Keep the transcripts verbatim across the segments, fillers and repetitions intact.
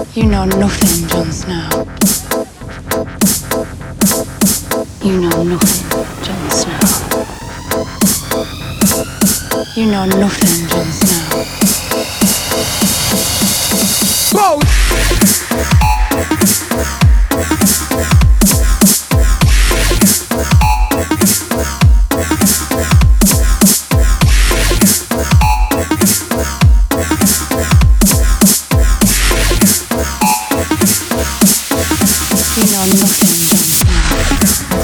You know nothing, Jon Snow. You know nothing, Jon Snow. You know nothing, Jon Snow. Whoa! You know nothing, Jon Snow.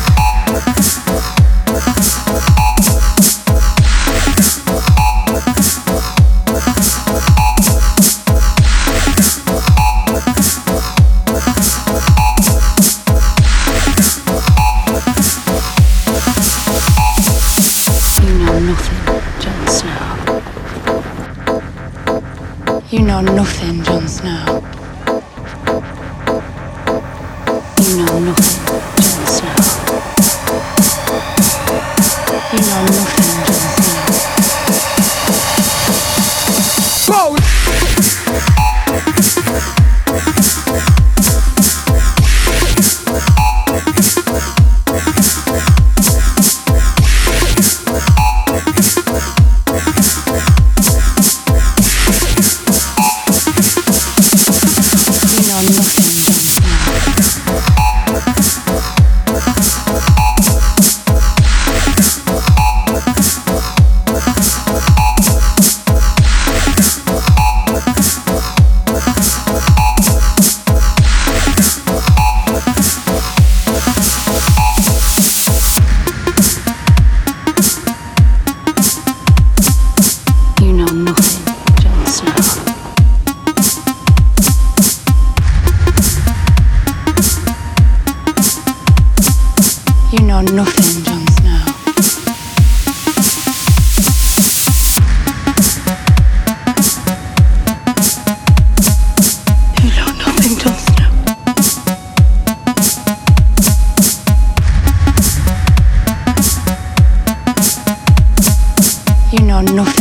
You know nothing, Jon Snow. You know nothing, Jon Snow. You know nothing, Jon Snow. Whoa! You know nothing, Jon Snow. You know nothing, Jon Snow. You know nothing.